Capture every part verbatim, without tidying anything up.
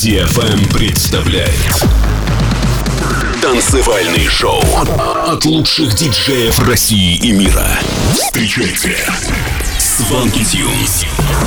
ди эф эм представляет танцевальный шоу от лучших диджеев России и мира. Встречайте Swanky Tunes.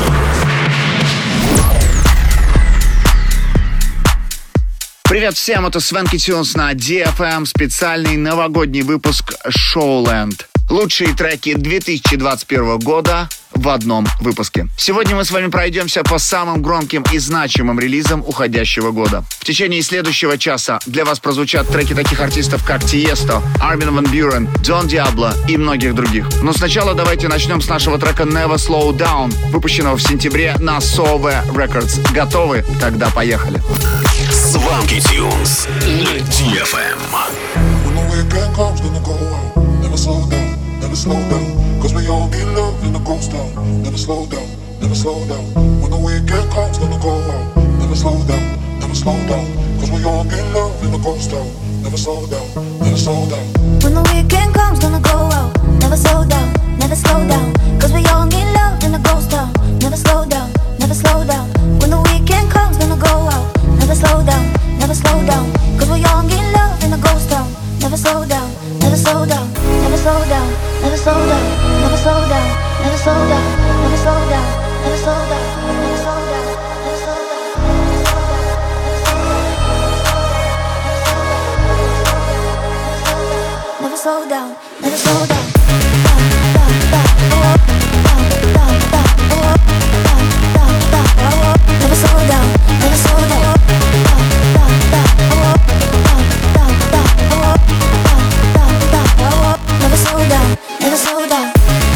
Привет всем, это Swanky Tunes на ди эф эм, специальный новогодний выпуск Showland. Лучшие треки две тысячи двадцать первого года в одном выпуске. Сегодня мы с вами пройдемся по самым громким и значимым релизам уходящего года. В течение следующего часа для вас прозвучат треки таких артистов, как Tiesto, Armin van Buuren, Don Diablo и многих других. Но сначала давайте начнем с нашего трека Never Slow Down, выпущенного в сентябре на Sove Records. Готовы? Тогда поехали. Swanky Tunes на ди эф эм. Never slow down, never slow down, cause we all need love in the ghost town. Never slow down, never slow down, when the weekend comes, gonna go out. Never slow down, never slow down, cause we all need love in the ghost town. Never slow down, never slow down. When the weekend comes, gonna go out. Never slow down, never slow down, cause we all need love in the ghost town. Never slow down, never slow down, when the weekend comes, gonna go out. Never slow down, never slow down, cause we all need love in the ghost town. Never slow down, never slow down, never slow down, never slow down, never slow down, never slow down, never slow down, never slow down, never slow down, never slow down, never slow down, never slow down. Never slow down, never slow down. Never slow down, never slow down.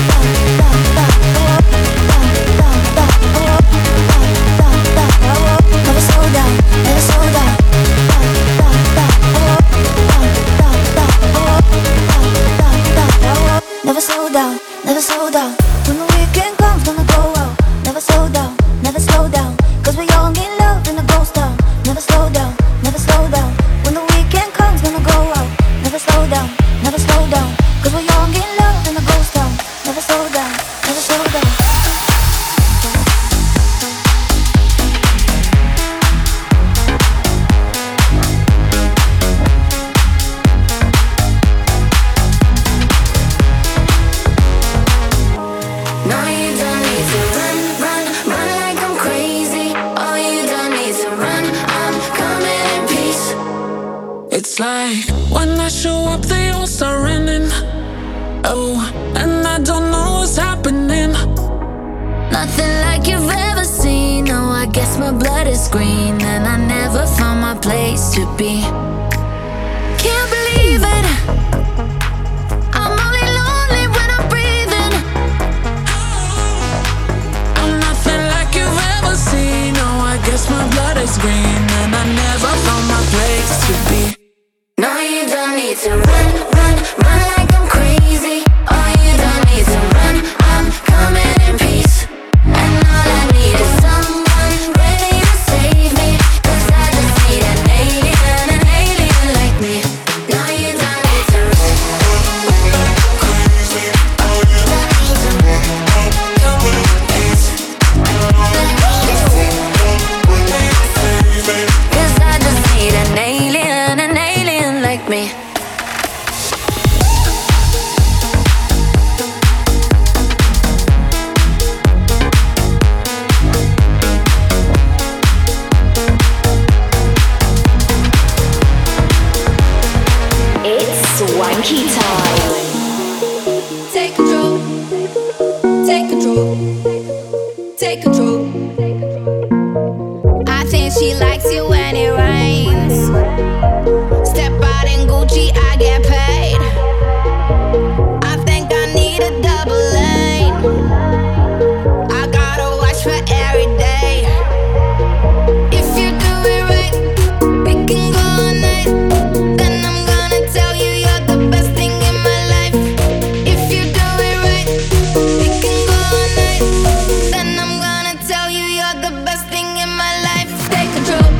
Never slow down, never slow down. Never slow down, never slow down. When the weekend comes, gonna go out. Never slow down, never slow down, cause we all need love in the ghost town. Never slow down, never slow down. When the weekend comes, gonna go out. Never slow down, never slow down, cause we all get love in the ghost town. Never slow down, never slow down. Now you don't need to run, run, run like I'm crazy. All you don't need to run, I'm coming in peace. It's like when I show up, they all start running. Oh, and I don't know what's happening. Nothing like you've ever seen. No, I guess my blood is green, and I never found my place to be. Can't believe it. I'm only lonely when I'm breathing. I'm nothing like you've ever seen. No, I guess my blood is green, and I never found my place to be. No, you don't need to run, run, run like I'm crazy. Oh, you don't need to run, I'm coming in peace. And all I need is someone ready to save me, cause I just need an alien, an alien like me. No, you don't need to run, crazy. Oh, you don't need to run, I'm coming in peace. Cause I just need an alien, an alien like me. It's Swanky time. Take control, take control, take control. I think she likes it when it rains. Step out in Gucci, I get paid. I think I need a double lane. I gotta watch for every day. If you do it right, we can go all night. Then I'm gonna tell you you're the best thing in my life. If you do it right, we can go all night. Then I'm gonna tell you you're the best thing in my life. Take control.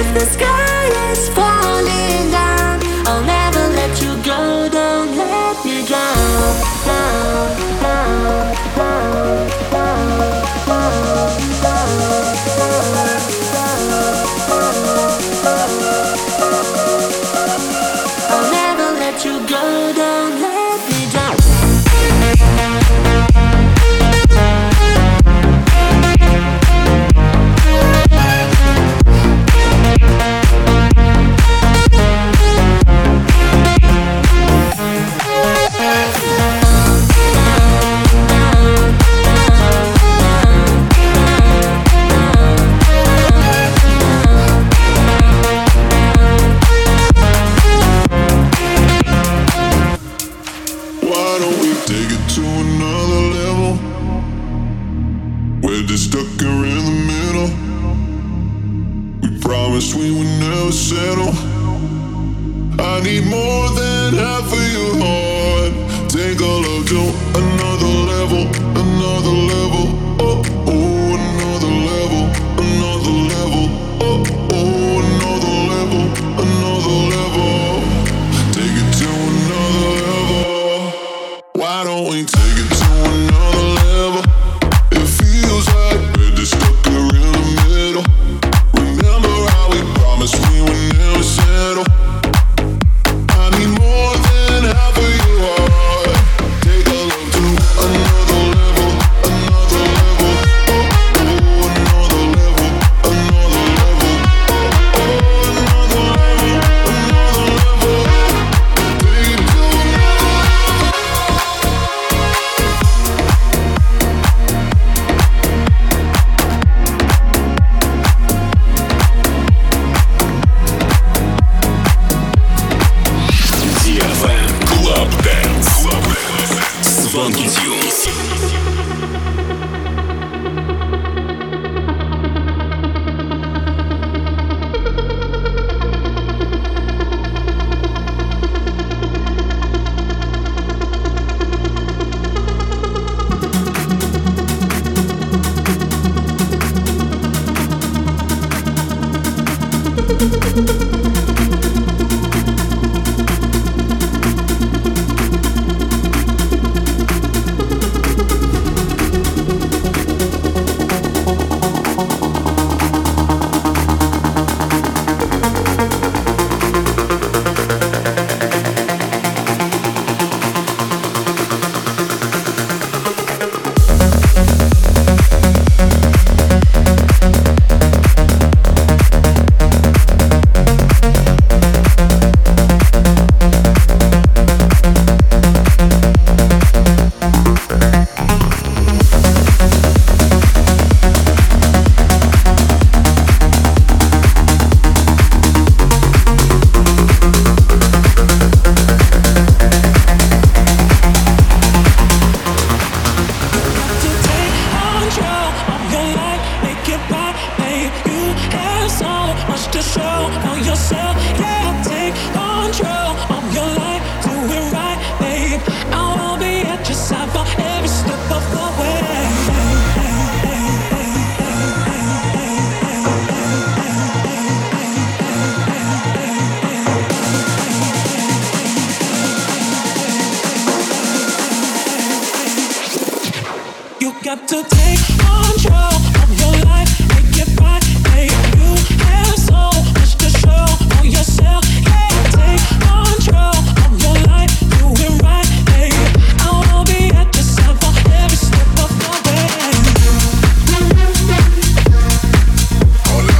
if the sky is falling down, I'll never let you go. Don't let me down, down, down, down, down, down, down, I'll never let you go. Don't let me down. We would never settle. I need more than half of your heart. Take our love to another level, another level. Oh, oh, another level, another level. Oh, oh, another level, another level. Take it to another level. Why don't we take it to another level? It feels like we're just stuck here in the middle. Remember how we promised we would never settle. I need more than half of your heart. Take our love to another level, another level. Oh, oh, another level, another level. Oh, oh, another level, another level. Take it to another level. ди эф эм Club Dance. Swanky Tunes. Got to take control of your life, make it right, babe. You have so much to show for yourself. Yeah, take control of your life, do it right, babe. I wanna be at your side for every step of the way. Hola.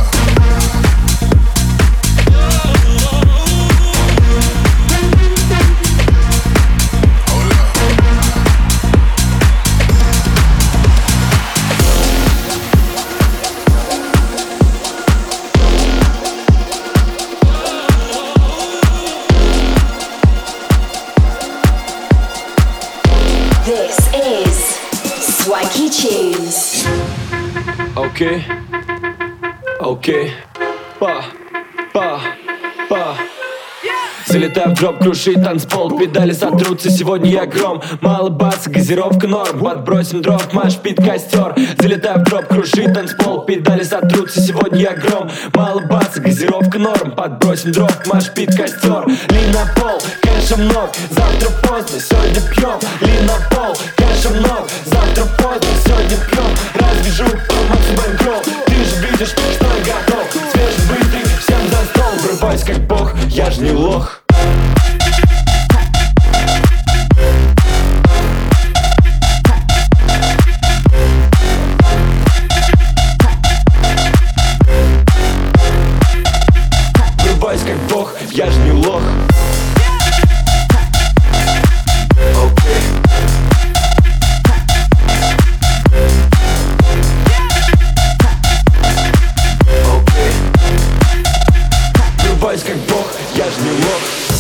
This is Swanky Tunes. Okay, okay, ba, ba, ba. Залетаю в дроп, крушит танцпол, педали сотрутся, сегодня я гром. Мало баса, газировка норм, подбросим дров, маш пит костер. Залетаю в дроп, крушит танцпол, педали сотрутся, сегодня я гром. Мало баса, газировка норм, подбросим дров, маш пит костер. Ли на пол, кэша много, завтра поздно, сегодня пьем. Ли на пол, кэша много, завтра поздно, сегодня пьем. Развяжу Макси Бэнкролл, ты же видишь, что я готов. Свежебытый, всем за стол, врубаюсь как бог, я ж не лох. Врубаюсь как бог, я ж не лох. Врубаюсь как бог, я ж не лох.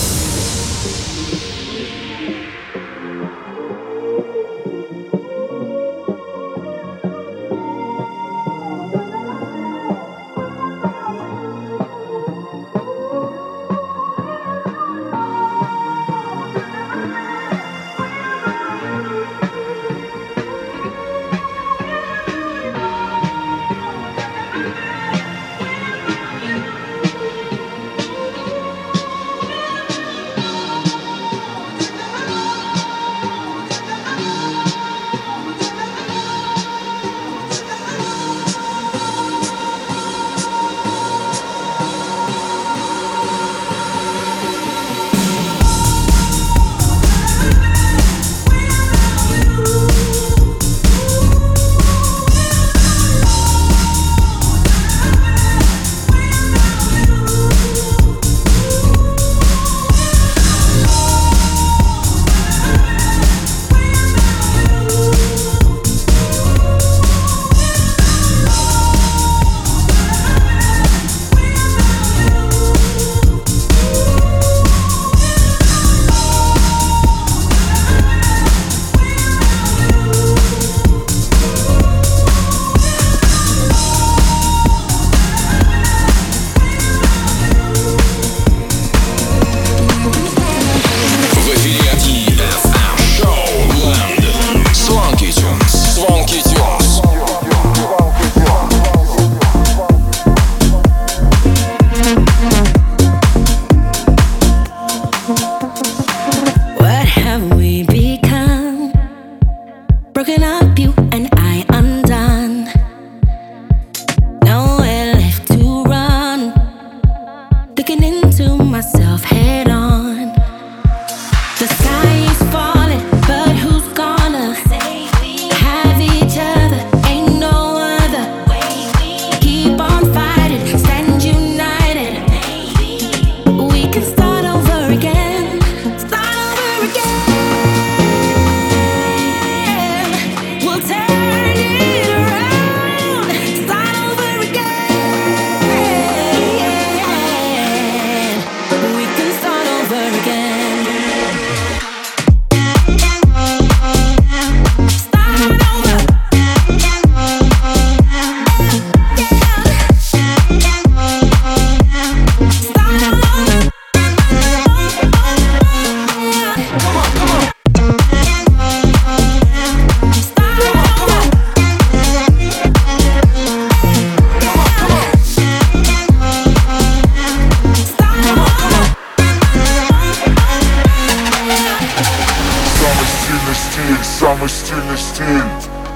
Самый стильный стиль,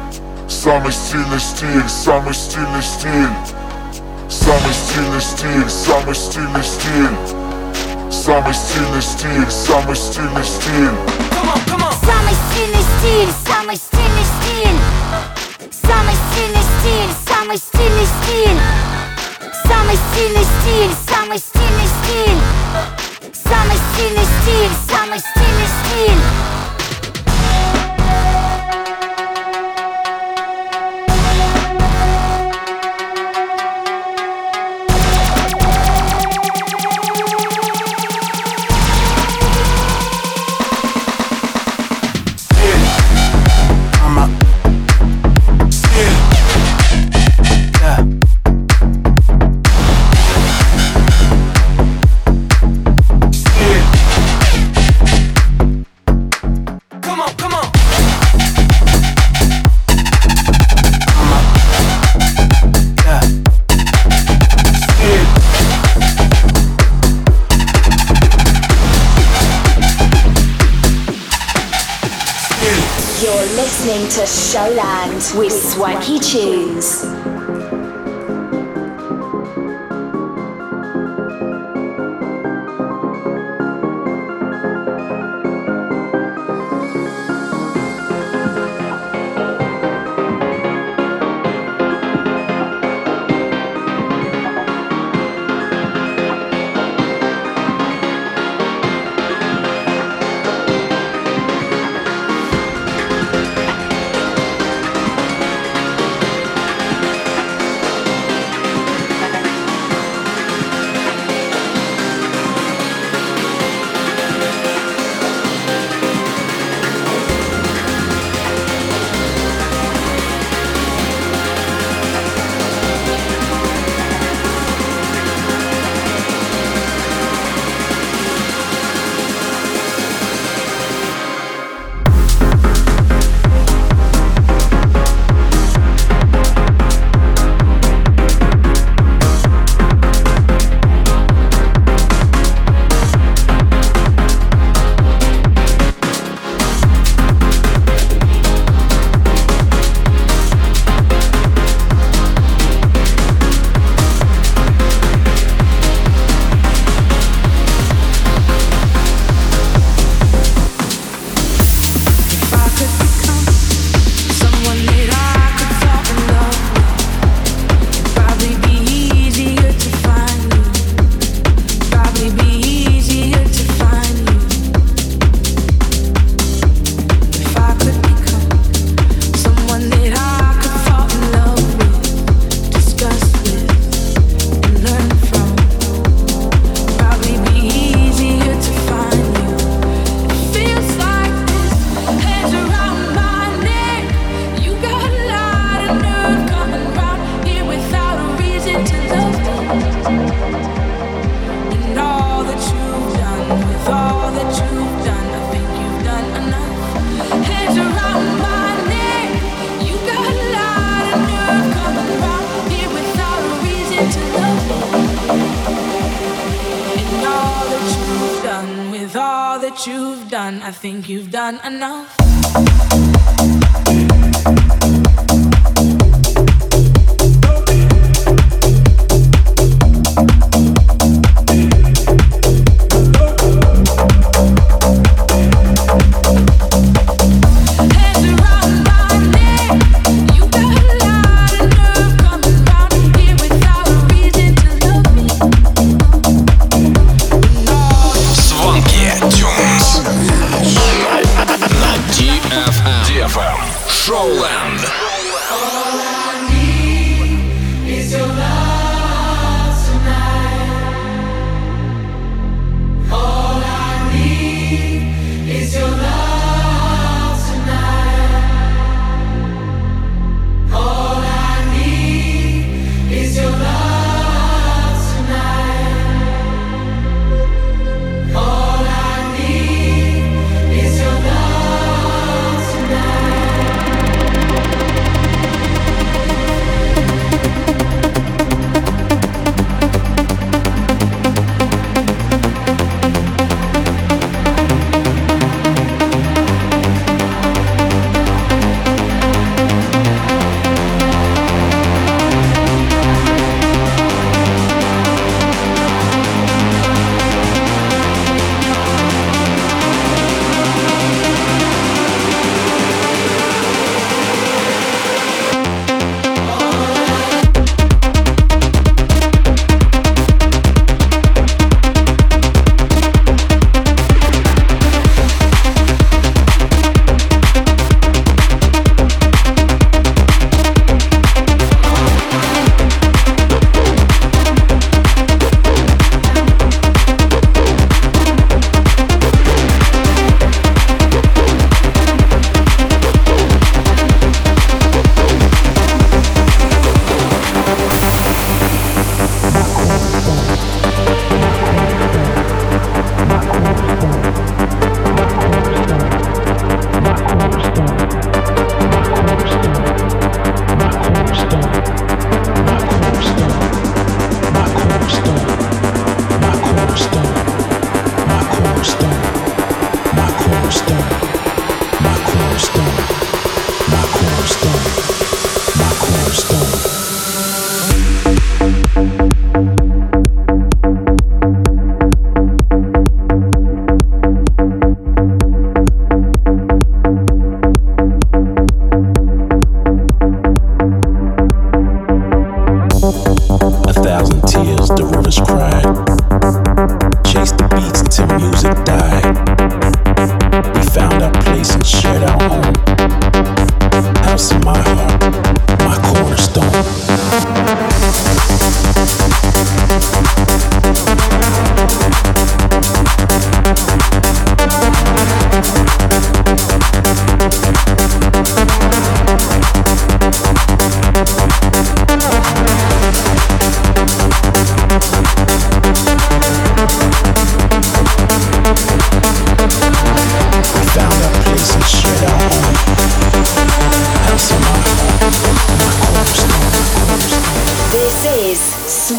самый стильный стиль, самый стильный стиль, самый стильный стиль, самый стильный стиль, самый стильный стиль, самый стильный стиль. Самый стильный стиль, самый стильный стиль, самый стильный стиль, самый стильный стиль, самый стильный стиль, самый стильный стиль, самый стильный стиль, самый стильный стиль. Yeah. Showland with Swanky Tunes. You've done, I think you've done enough. ди эф эм Showland.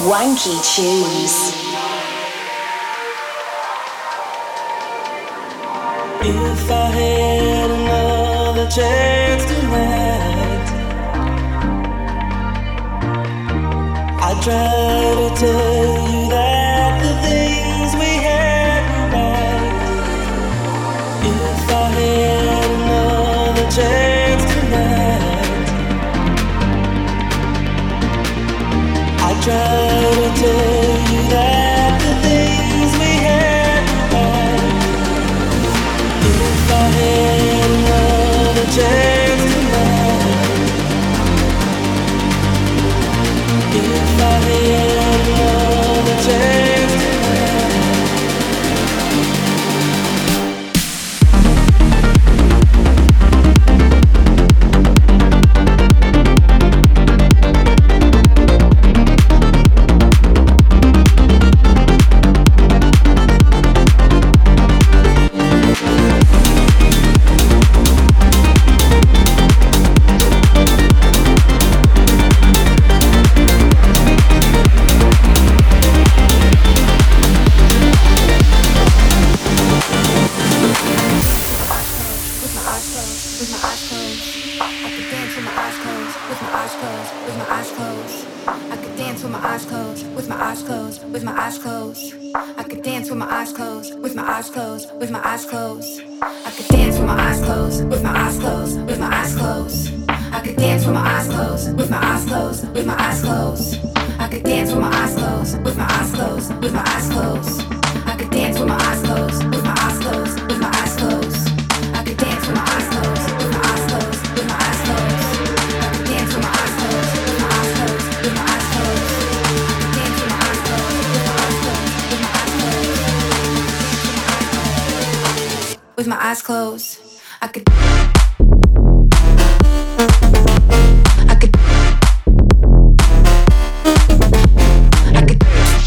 Swanky Tunes. If I had another chance tonight, I'd try to tell you that the things we had were right. If I had another chance tonight, I'd try to tell you that the things we had were right. If I had another chance tonight, if I had another chance with my eyes closed. I could dance with my eyes closed, with my eyes closed, with my eyes closed. I could dance with my eyes closed, with my eyes closed, with my eyes closed. I could dance with my eyes closed, with my eyes closed, with my eyes closed. I could dance with my eyes closed, with my eyes closed, with my eyes closed. I could dance with my eyes closed, with my eyes closed, with my eyes closed. I could dance with my eyes closed, with my eyes closed, with my eyes closed. I could dance with my eyes closed, with my eyes closed, with my eyes closed. With my eyes closed, I could. I could. I could.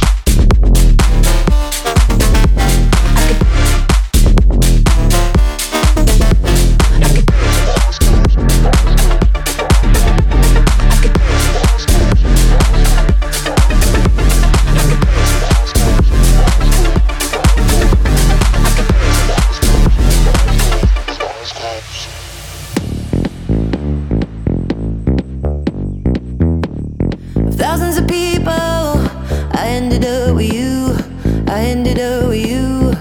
Thousands of people, I ended up with you. I ended up with you.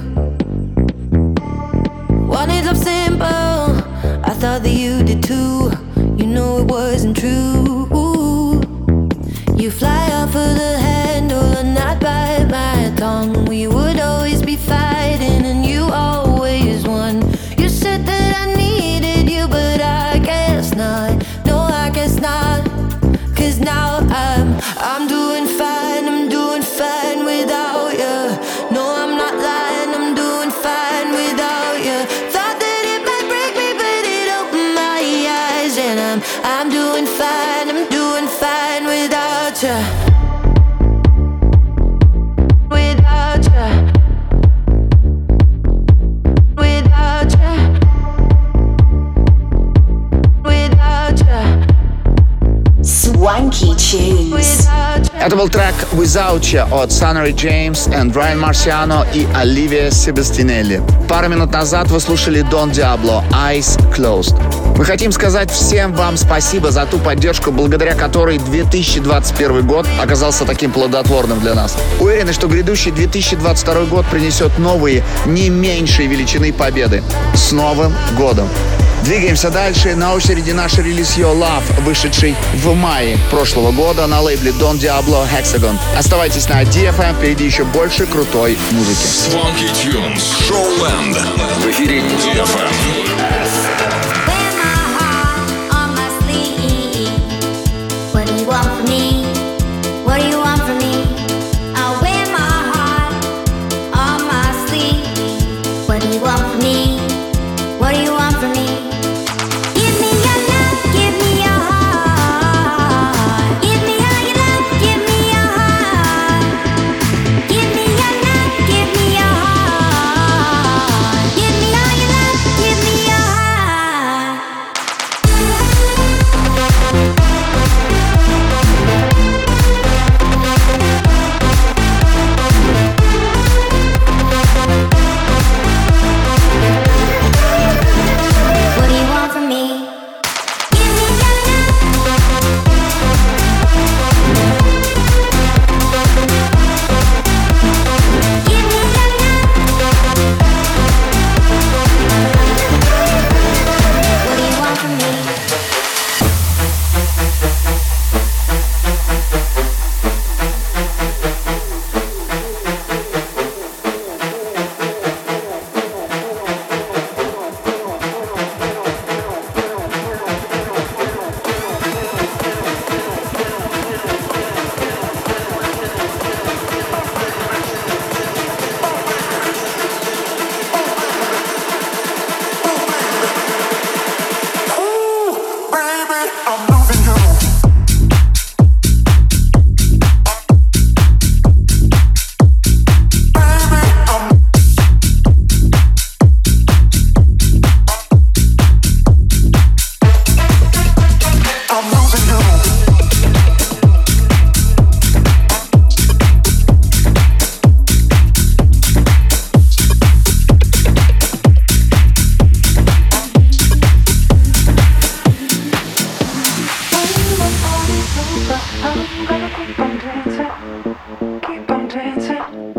Wanted love simple, I thought that you did too. You know it wasn't true. You fly off of the handle and not bite my tongue. We would always be fighting and you always won. You said that I needed you, but I guess not. No, I guess not. Cause now I'm, I'm doing fine, I'm doing fine without you. No, I'm not lying, I'm doing fine without you. Thought that it might break me, but it opened my eyes. And I'm, I'm doing fine, I'm doing fine without you. Without you. Without you. Without you. Swanky Tunes. Это был трек Without You от Sunnery James and Ryan Marciano и Оливия Себастинелли. Пару минут назад вы слушали Don Diablo Eyes Closed. Мы хотим сказать всем вам спасибо за ту поддержку, благодаря которой две тысячи двадцать первый год оказался таким плодотворным для нас. Уверены, что грядущий две тысячи двадцать второй год принесет новые, не меньшие величины победы. С Новым годом! Двигаемся дальше. На очереди наш релиз Your Love, вышедший в мае прошлого года на лейбле Don Diablo Hexagon. Оставайтесь на ди эф эм, впереди еще больше крутой музыки. Swanky Tunes, Showland. В эфире ди эф эм. Give me all your love, give me your heart.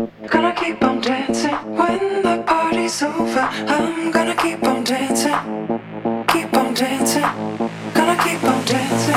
Gonna keep on dancing when the party's over. I'm gonna keep on dancing, keep on dancing. Gonna keep on dancing.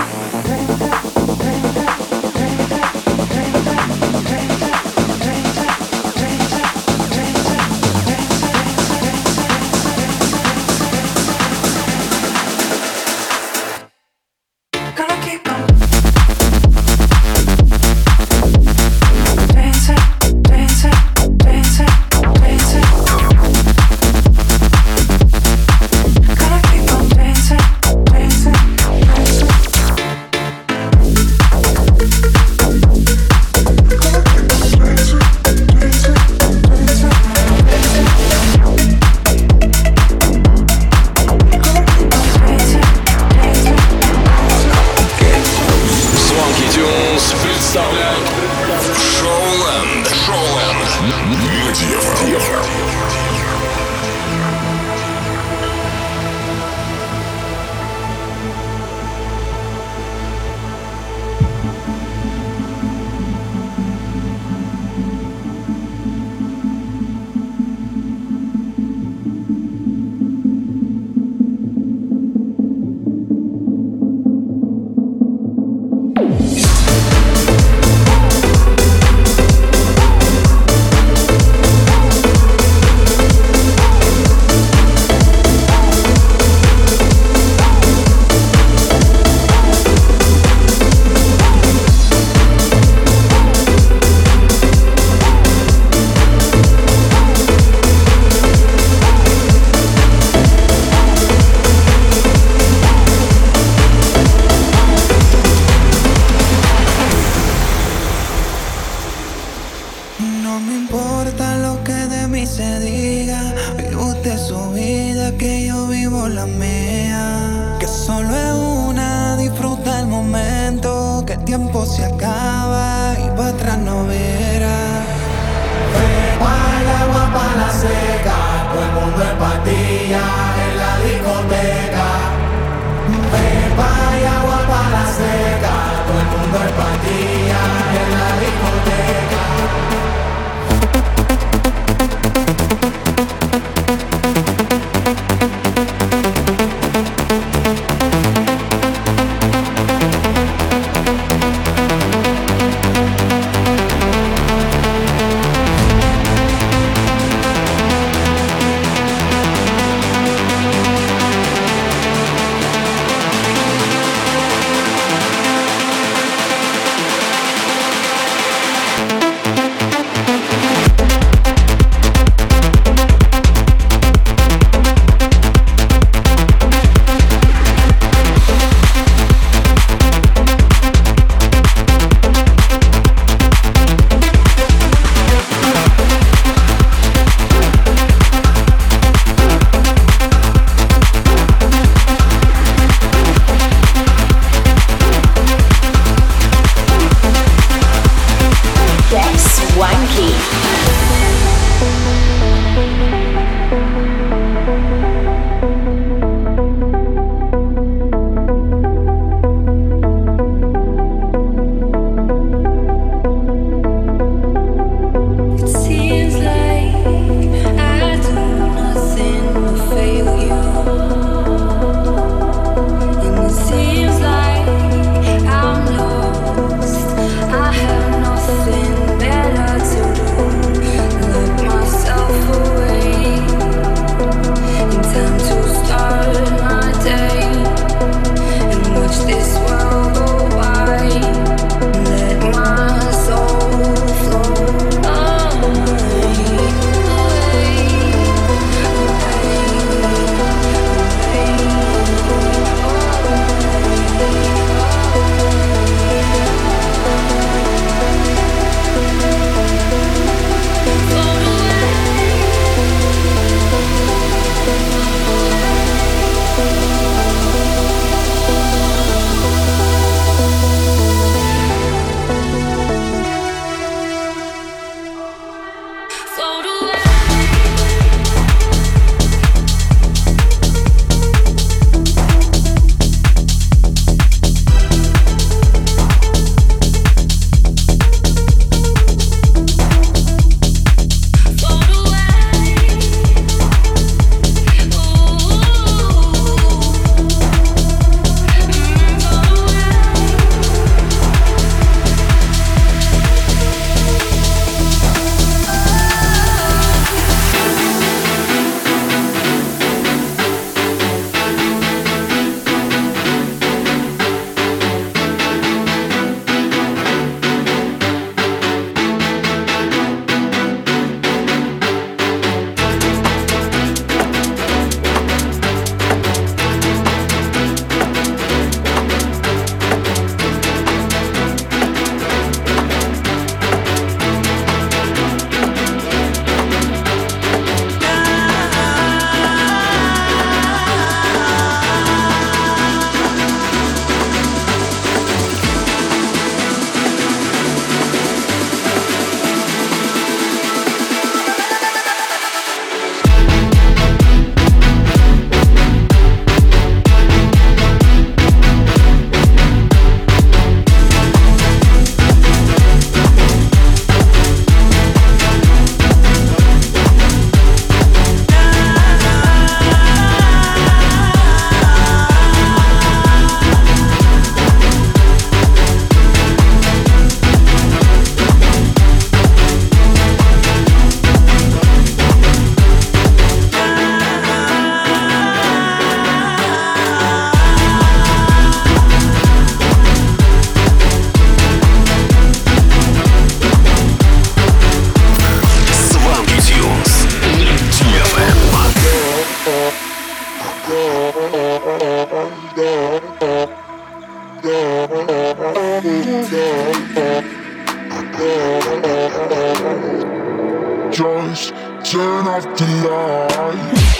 just turn off the lights.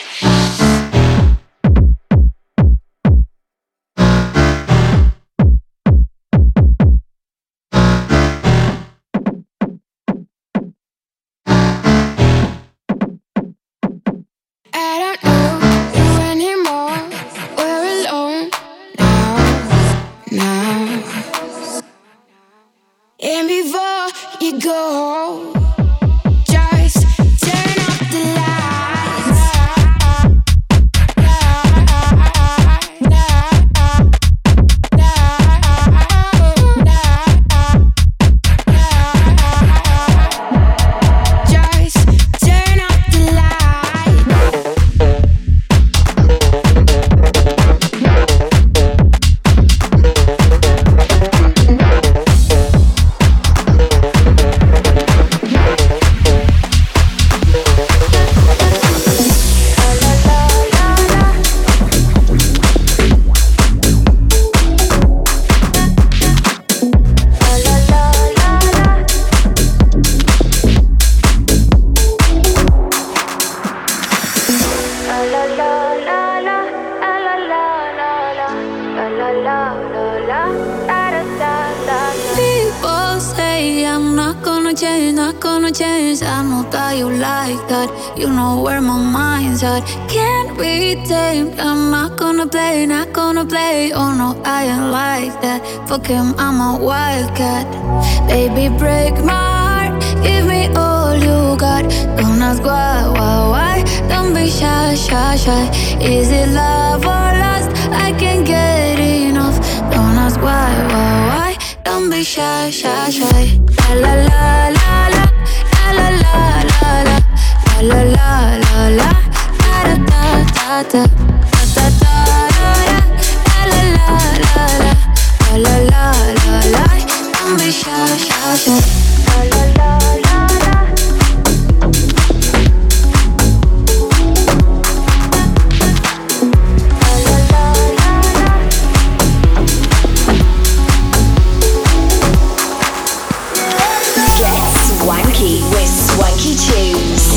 Go, just turn off the lights. You know where my mind's at. Can't be tamed. I'm not gonna play, not gonna play. Oh no, I ain't like that. Fuck him, I'm a wildcat. Baby, break my heart. Give me all you got. Don't ask why, why, why. Don't be shy, shy, shy. Is it love or lust? I can't get enough. Don't ask why, why, why. Don't be shy, shy, shy. La la la la la. La la la la la. La la la la, da da da da da da da da. La la la la la, la la la la. Don't be shy, shy, shy. La la la la la. Get swanky with Swanky Tunes.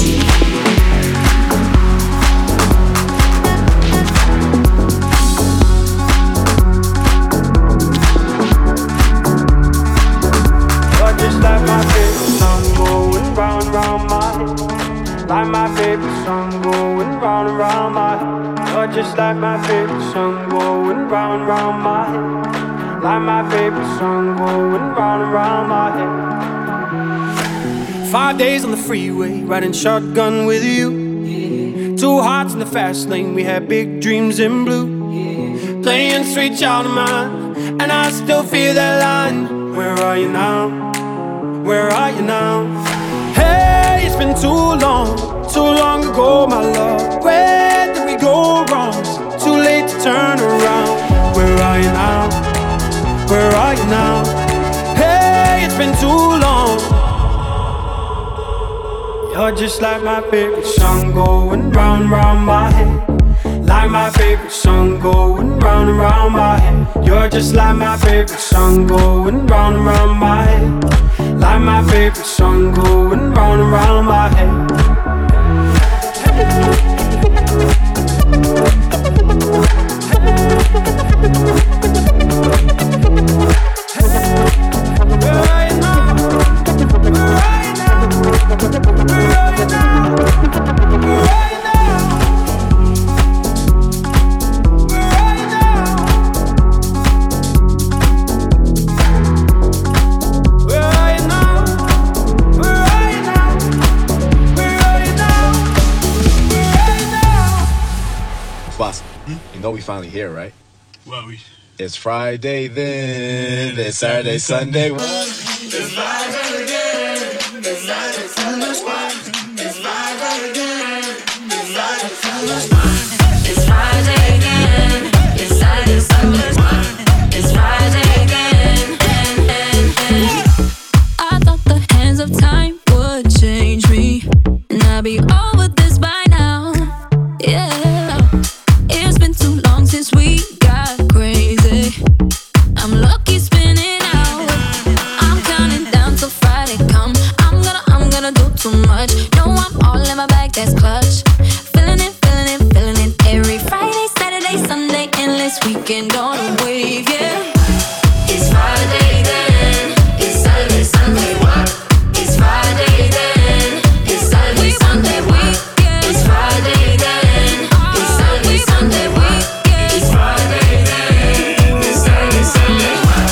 Like my favorite song going round and round my head. You're just like my favorite song going round and round my head. Like my favorite song going round and round my head. Five days on the freeway, riding shotgun with you. Yeah. Two hearts in the fast lane, we had big dreams in blue. Yeah. Playing sweet child of mine, and I still feel that line. Where are you now? Where are you now? Hey, it's been too long, too long ago, my love. Where did we go wrong? It's too late to turn around. Where are you now? Where are you now? Hey, it's been too long. You're just like my favorite song going round and round my head. Like my favorite song going round and round my head. You're just like my favorite song going round and round my head. Like my favorite song going round and round my head. Where are you now? Where are you now? Where are you now? Where are you now? Where are you now? Where are you now? Where are you now? Where are you now? Where are you now? Boss, hmm? You know we finally here, right? Well, we. It's Friday then, it's Saturday, Sunday. It's Friday again, it's Friday, Sunday. It's Friday again, it's Friday, Sunday. It's Friday again, it's Saturday, Sunday. It's Friday again. I thought the hands of time would change me, and I'd be over this by now. Yeah, it's been too long since we got crazy. I'm lucky spinning out. I'm counting down till Friday come. I'm gonna, I'm gonna do too much. No, I'm all in my bag, that's clutch. Feeling it, feeling it, feeling it. Every Friday, Saturday, Sunday, endless weekend on a wave, yeah. It's Friday then, it's Saturday, Sunday, what? It's Friday then, it's Saturday, Sunday, what? It's Friday then, it's Saturday, Sunday, what? It's Friday then, it's Saturday, Sunday, what?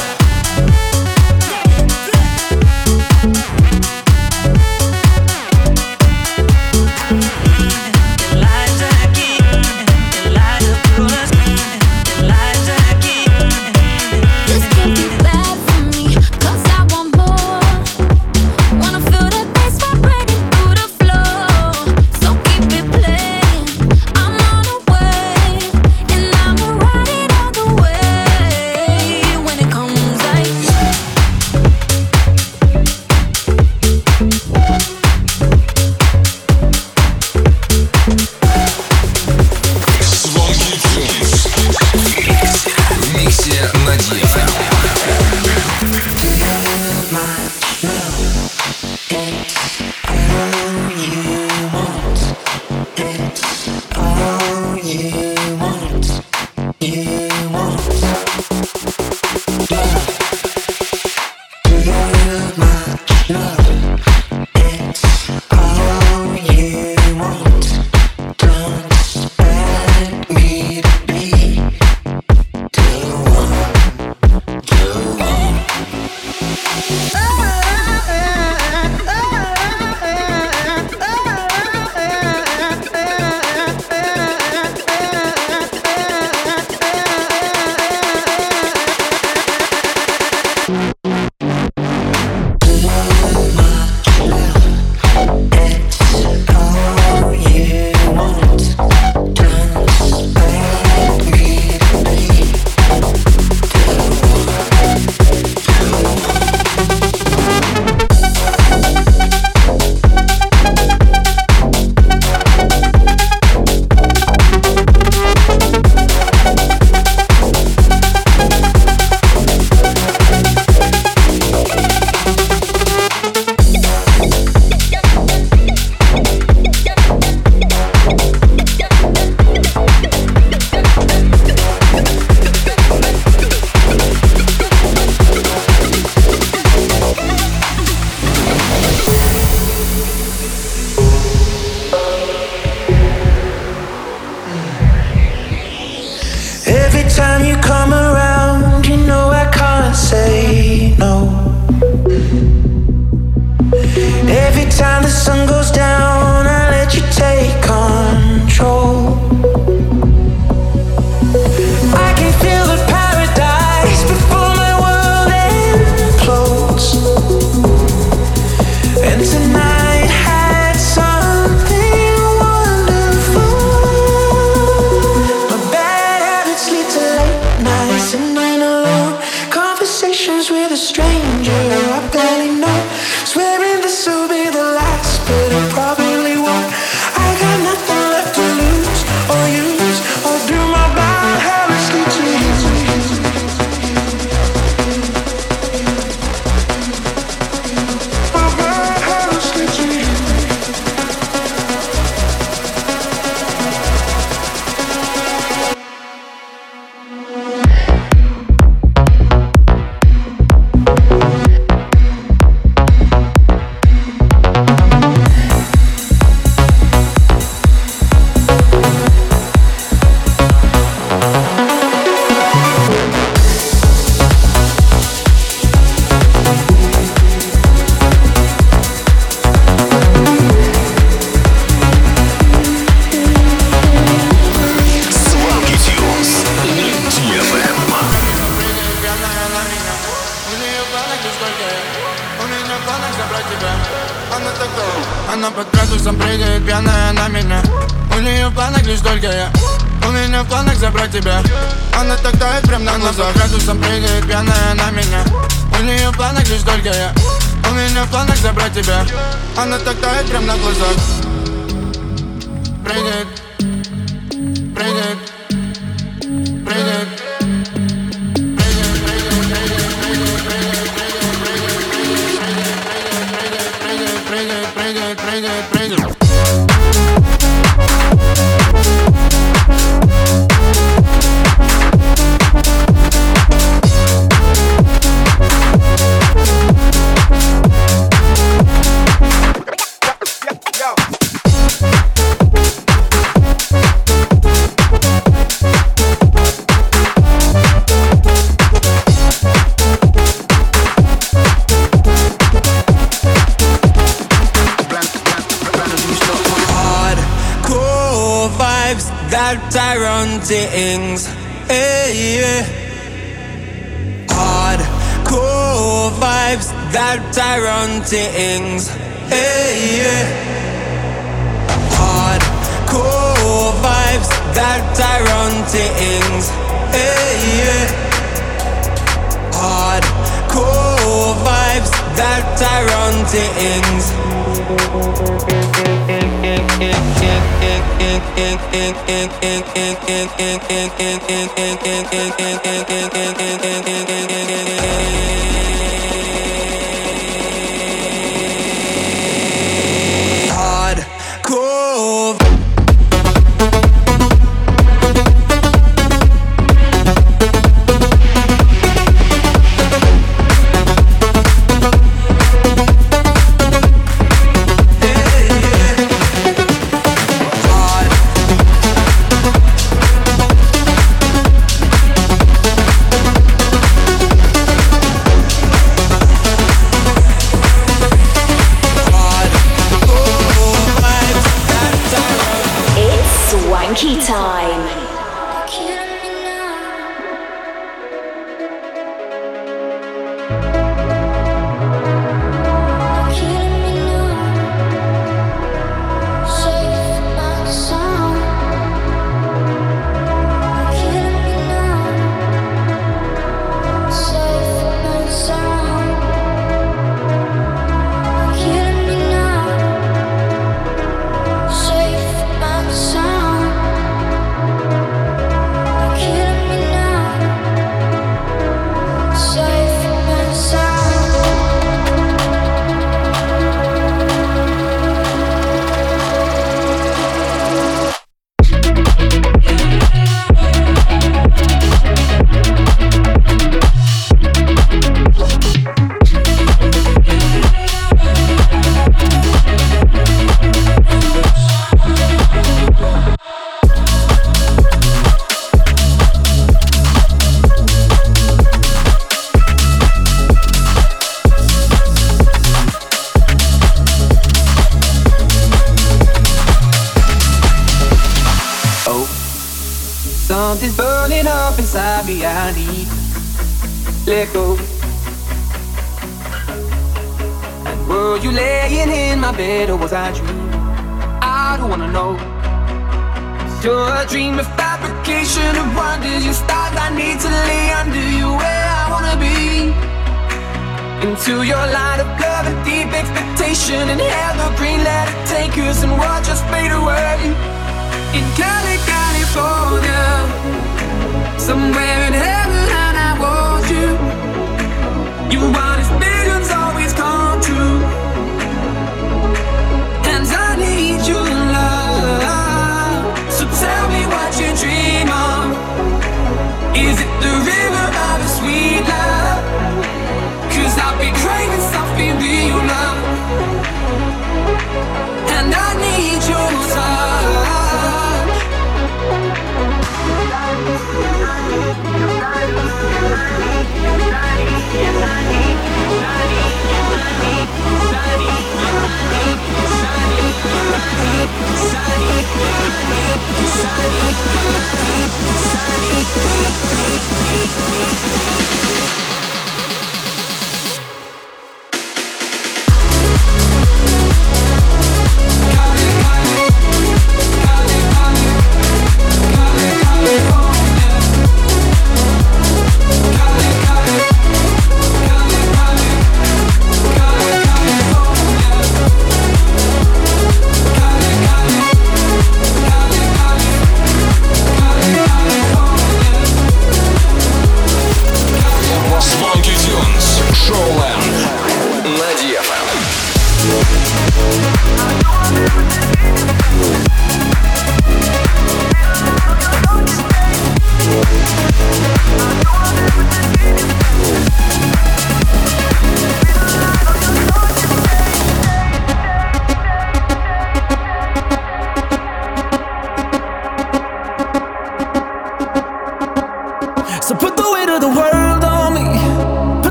Она под градусом прыгает пьяная на меня. У нее в планах лишь только я. У меня в планах забрать тебя. Она так тает прям на глазах. Она под градусом прыгает пьяная на меня. У нее в планах лишь только я. У меня в планах забрать тебя. Она так тает прям на глазах. Прыгает, прыгает, прыгает. Прыгает, прыгает, прыгает. Tyrone things, hey, yeah. Hardcore vibes, that Tyrone things, hey, yeah. Hardcore vibes, that Tyrone things, hey, yeah. Hardcore vibes, that Tyrone things. Hardcore. Swanky time. Something's burning up inside me, I need to let go. And were you laying in my bed or was I dreaming? I don't wanna know. You're a dream of fabrication of wonders. Your stars I need to lay under you where I wanna be. Into your line of love and deep expectation. And evergreen, let it take us and watch us fade away. In Cali, California, somewhere in heaven, and I want you. You want his visions always come true, and I need your love. So tell me what you dream of. Is it the river of a sweet love? 'Cause I've been craving something real love, and I need your touch.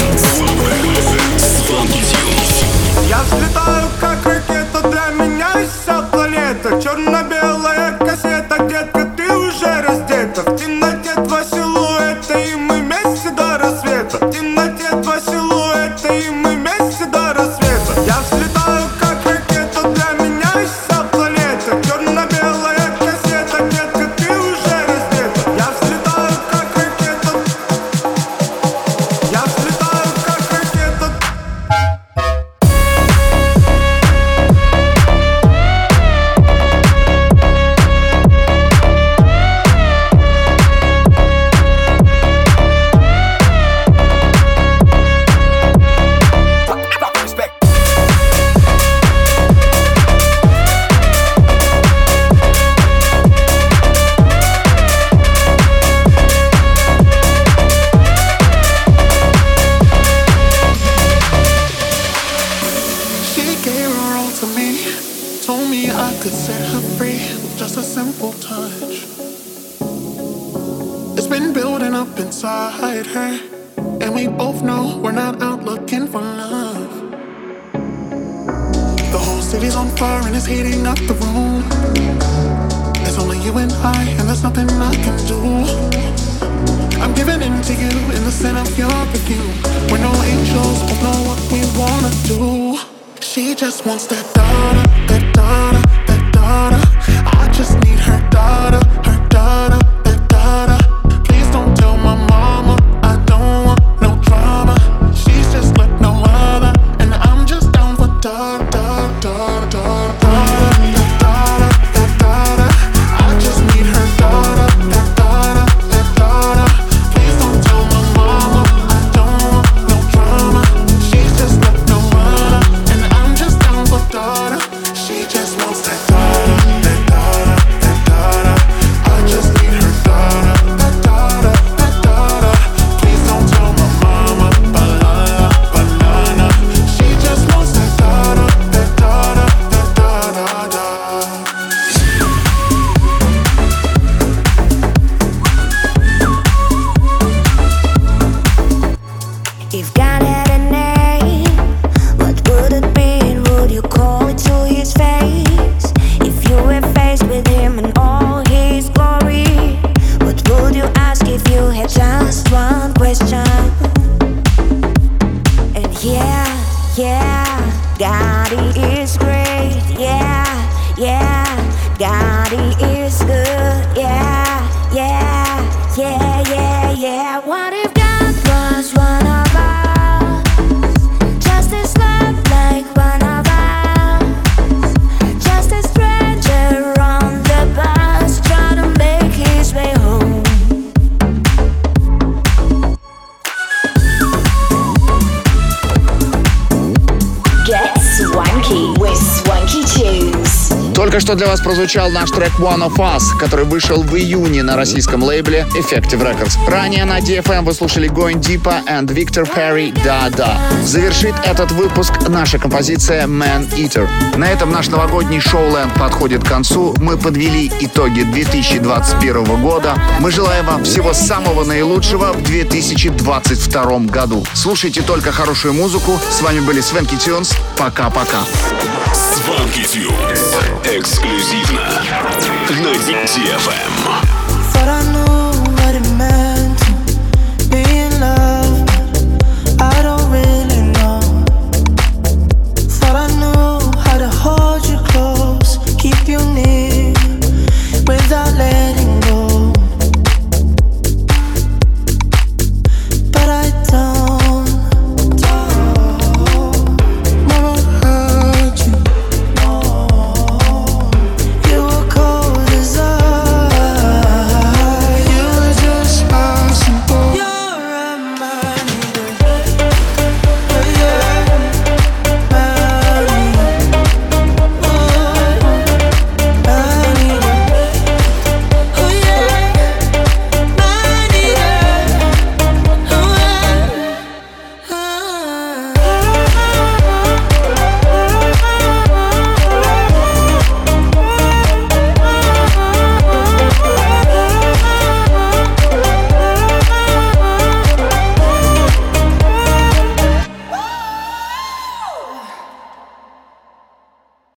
Swanky Tunes. Я взлетаю, как ракета, для меня вся планета. Черно-белая кассета, детка, ты уже раздета. В темноте два силуэта, и мы вместе до рассвета. В темноте два силуэта, и мы вместе до рассвета. Я взлетаю, как ракета, для меня вся планета. Черно-белая кассета, детка, ты уже раздета. Я взлетаю, как ракета. Я взлетаю, как ракета. She gave her all to me, told me I could set her free with just a simple touch. It's been building up inside her, and we both know we're not out looking for love. The whole city's on fire and it's heating up the room. There's only you and I, and there's nothing I can do. I'm giving in to you in the scent of your perfume. We're no angels, won't know what we wanna do. She just wants that daughter, that daughter, that daughter. I just need her daughter, her daughter, that daughter. Please don't tell my mama, I don't want no drama. She's just like no other, and I'm just down for daughter, daughter, daughter, daughter, that daughter, that daughter. I just need her daughter, that daughter, that daughter. Please don't tell my mama, I don't want no drama. She's just like no other, and I'm just down for daughter. She just wants that daughter, that daughter, that daughter. I just need her daughter, that daughter, that daughter. Please don't tell my mama, banana, banana. She just wants that daughter, that daughter, that daughter. If God had a name, what would it be? And would you call it to his face? If you were faced with him in all his glory, what would you ask if you had just one question? And yeah, yeah, God he is great. Yeah, yeah, God he is good. Yeah, yeah, yeah, yeah, yeah. What if God was one of us? Just as love like one of us. Just a stranger on the bus trying to make his way home. Get swanky with Swanky Tunes. Только что для вас прозвучал наш трек One of Us, который вышел в июне на российском лейбле Effective Records. Ранее на ди эф эм вы слушали Going Deeper and Victor Perry Da Da. Завершит этот выпуск наша композиция Man Eater. На этом наш новогодний шоуленд подходит к концу. Мы подвели итоги две тысячи двадцать первого года. Мы желаем вам всего самого наилучшего в две тысячи двадцать втором году. Слушайте только хорошую музыку. С вами были Swanky Tunes. Пока-пока. Swanky Tunes. Эксклюзивно на ди эф эм.